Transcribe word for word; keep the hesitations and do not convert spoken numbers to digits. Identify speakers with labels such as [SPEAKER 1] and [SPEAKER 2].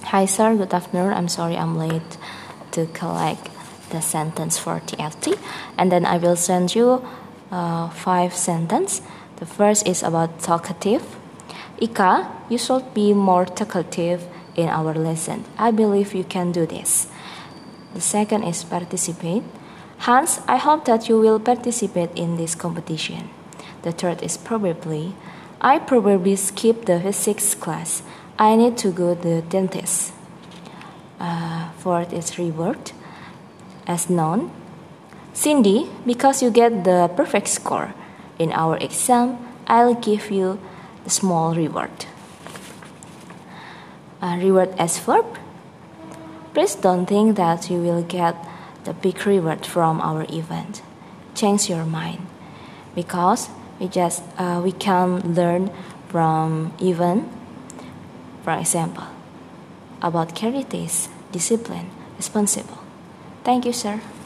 [SPEAKER 1] Hi sir, good afternoon. I'm sorry I'm late to collect the sentence for T F T, and then I will send you uh, five sentences. The first is about talkative. Ika, you should be more talkative in our lesson. I believe you can do this. The second is participate. Hans, I hope that you will participate in this competition. The third is probably. I probably skip the physics class. I need to go to the dentist. Uh, fourth is reward. As known. Cindy, because you get the perfect score in our exam, I'll give you the small reward. Uh, reward as verb. Please don't think that you will get the big reward from our event. Change your mind, because we just uh, we can learn from event. For example, about characteristics, discipline, responsible. Thank you, sir.